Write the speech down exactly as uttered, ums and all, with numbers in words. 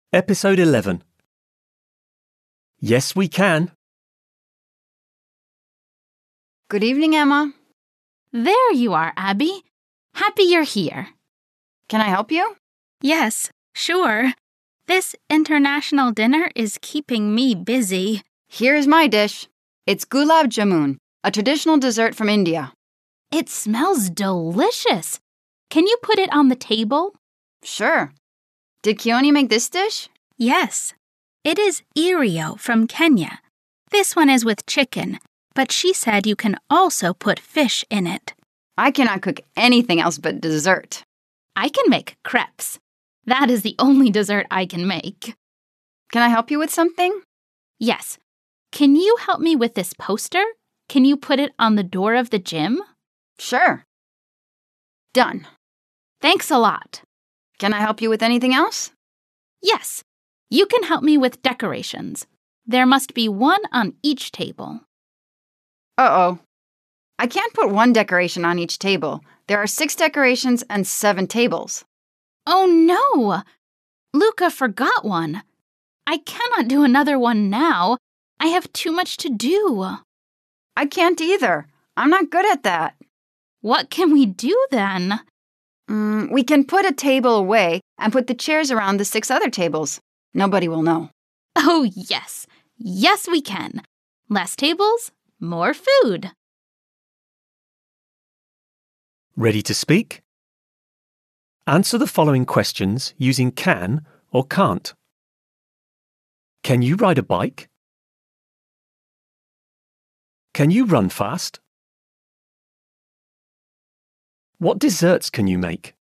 Episode eleven. Yes, we can. Good evening, Emma. There you are, Abby. Happy you're here. Can I help you? Yes, sure. This international dinner is keeping me busy. Here's my dish. It's gulab jamun, a traditional dessert from India. It smells delicious. Can you put it on the table? Sure. Did Keone make this dish? Yes. It is irio from Kenya. This one is with chicken, but she said you can also put fish in it. I cannot cook anything else but dessert. I can make crepes. That is the only dessert I can make. Can I help you with something? Yes. Can you help me with this poster? Can you put it on the door of the gym? Sure. Done. Thanks a lot. Can I help you with anything else? Yes. You can help me with decorations. There must be one on each table. Uh-oh. I can't put one decoration on each table. There are six decorations and seven tables. Oh no! Luca forgot one. I cannot do another one now. I have too much to do. I can't either. I'm not good at that. What can we do then? Mm, we can put a table away and put the chairs around the six other tables. Nobody will know. Oh, yes. Yes, we can. Less tables, more food. Ready to speak? Answer the following questions using can or can't. Can you ride a bike? Can you run fast? What desserts can you make?